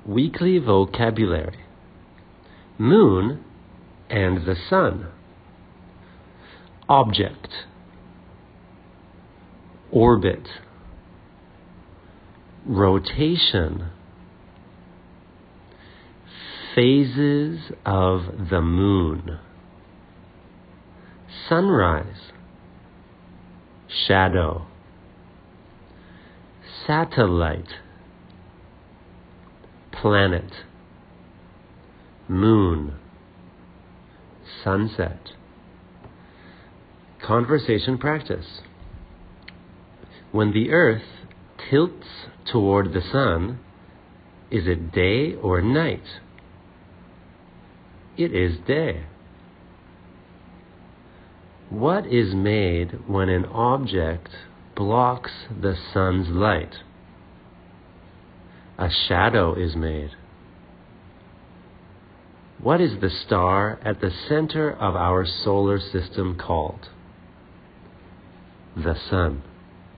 Weekly vocabulary. Moon and the sun. Object. Orbit. Rotation. Phases of the moon. Sunrise. Shadow. Satellite. Planet. Moon. Sunset. Conversation practice. When the earth tilts toward the sun, is it day or night? It is day. What is made when an object blocks the sun's light? A shadow is made. What is the star at the center of our solar system called? The sun.